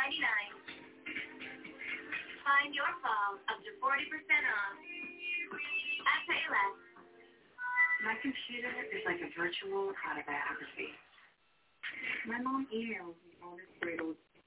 Find your phone up to 40% off at Payless. My computer is like a virtual autobiography. My mom emails me all this great old